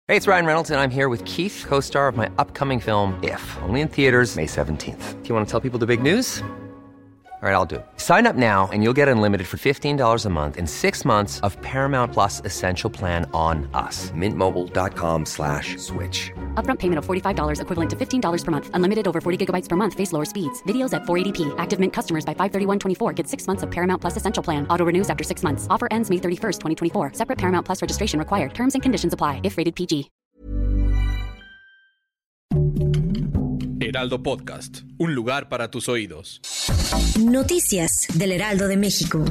Hey, it's Ryan Reynolds, and I'm here with Keith, co-star of my upcoming film, If, only in theaters May 17th. Do you want to tell people the big news? All right, I'll do it. Sign up now and you'll get unlimited for $15 a month and 6 months of Paramount Plus Essential Plan on us. MintMobile.com/switch. Upfront payment of $45 equivalent to $15 per month. Unlimited over 40 gigabytes per month. Face lower speeds. Videos at 480p. Active Mint customers by 531.24 get 6 months of Paramount Plus Essential Plan. Auto renews after 6 months. Offer ends May 31st, 2024. Separate Paramount Plus registration required. Terms and conditions apply if rated PG. Heraldo Podcast, un lugar para tus oídos. Noticias del Heraldo de México.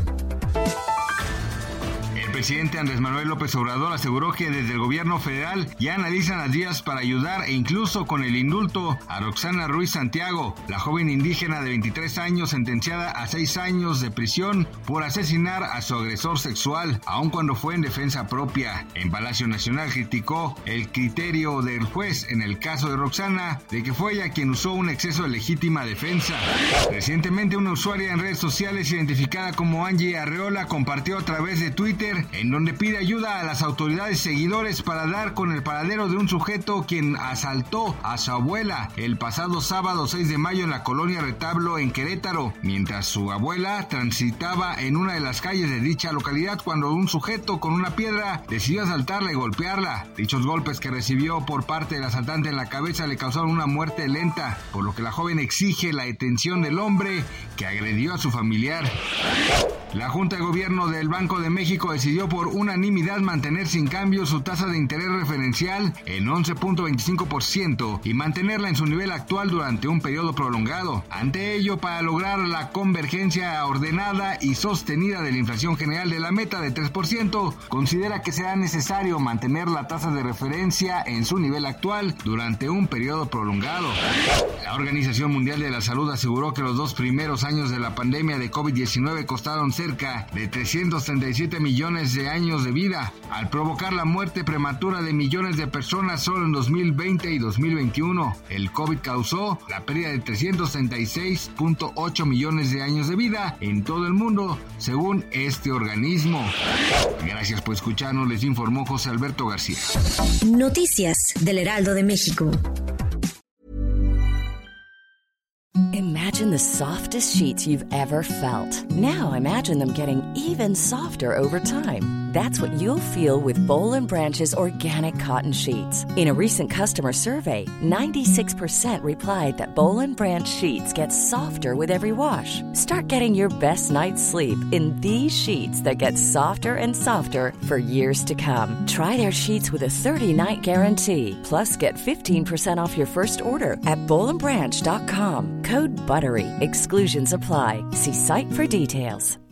El presidente Andrés Manuel López Obrador aseguró que desde el gobierno federal ya analizan las vías para ayudar e incluso con el indulto a Roxana Ruiz Santiago, la joven indígena de 23 años sentenciada a 6 años de prisión por asesinar a su agresor sexual, aun cuando fue en defensa propia. En Palacio Nacional criticó el criterio del juez en el caso de Roxana de que fue ella quien usó un exceso de legítima defensa. Recientemente una usuaria en redes sociales identificada como Angie Arreola compartió a través de Twitter en donde pide ayuda a las autoridades y seguidores para dar con el paradero de un sujeto quien asaltó a su abuela el pasado sábado 6 de mayo en la colonia Retablo en Querétaro, mientras su abuela transitaba en una de las calles de dicha localidad cuando un sujeto con una piedra decidió asaltarla y golpearla. Dichos golpes que recibió por parte del asaltante en la cabeza le causaron una muerte lenta, por lo que la joven exige la detención del hombre que agredió a su familiar. La Junta de Gobierno del Banco de México decidió por unanimidad mantener sin cambio su tasa de interés referencial en 11.25% y mantenerla en su nivel actual durante un periodo prolongado. Ante ello, para lograr la convergencia ordenada y sostenida de la inflación general de la meta de 3%, considera que será necesario mantener la tasa de referencia en su nivel actual durante un periodo prolongado. La Organización Mundial de la Salud aseguró que los 2 primeros años de la pandemia de COVID-19 costaron cerca de 337 millones de años de vida, al provocar la muerte prematura de millones de personas solo en 2020 y 2021. El COVID causó la pérdida de 336.8 millones de años de vida en todo el mundo, según este organismo. Gracias por escucharnos, les informó José Alberto García. Noticias del Heraldo de México. Imagine the softest sheets you've ever felt. Now imagine them getting even softer over time. That's what you'll feel with Boll & Branch's organic cotton sheets. In a recent customer survey, 96% replied that Boll & Branch sheets get softer with every wash. Start getting your best night's sleep in these sheets that get softer and softer for years to come. Try their sheets with a 30-night guarantee. Plus, get 15% off your first order at bollandbranch.com. Code BUTTERY. Exclusions apply. See site for details.